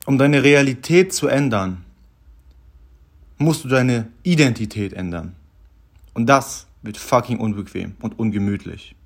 Um deine Realität zu ändern, musst du deine Identität ändern. Und das wird fucking unbequem und ungemütlich.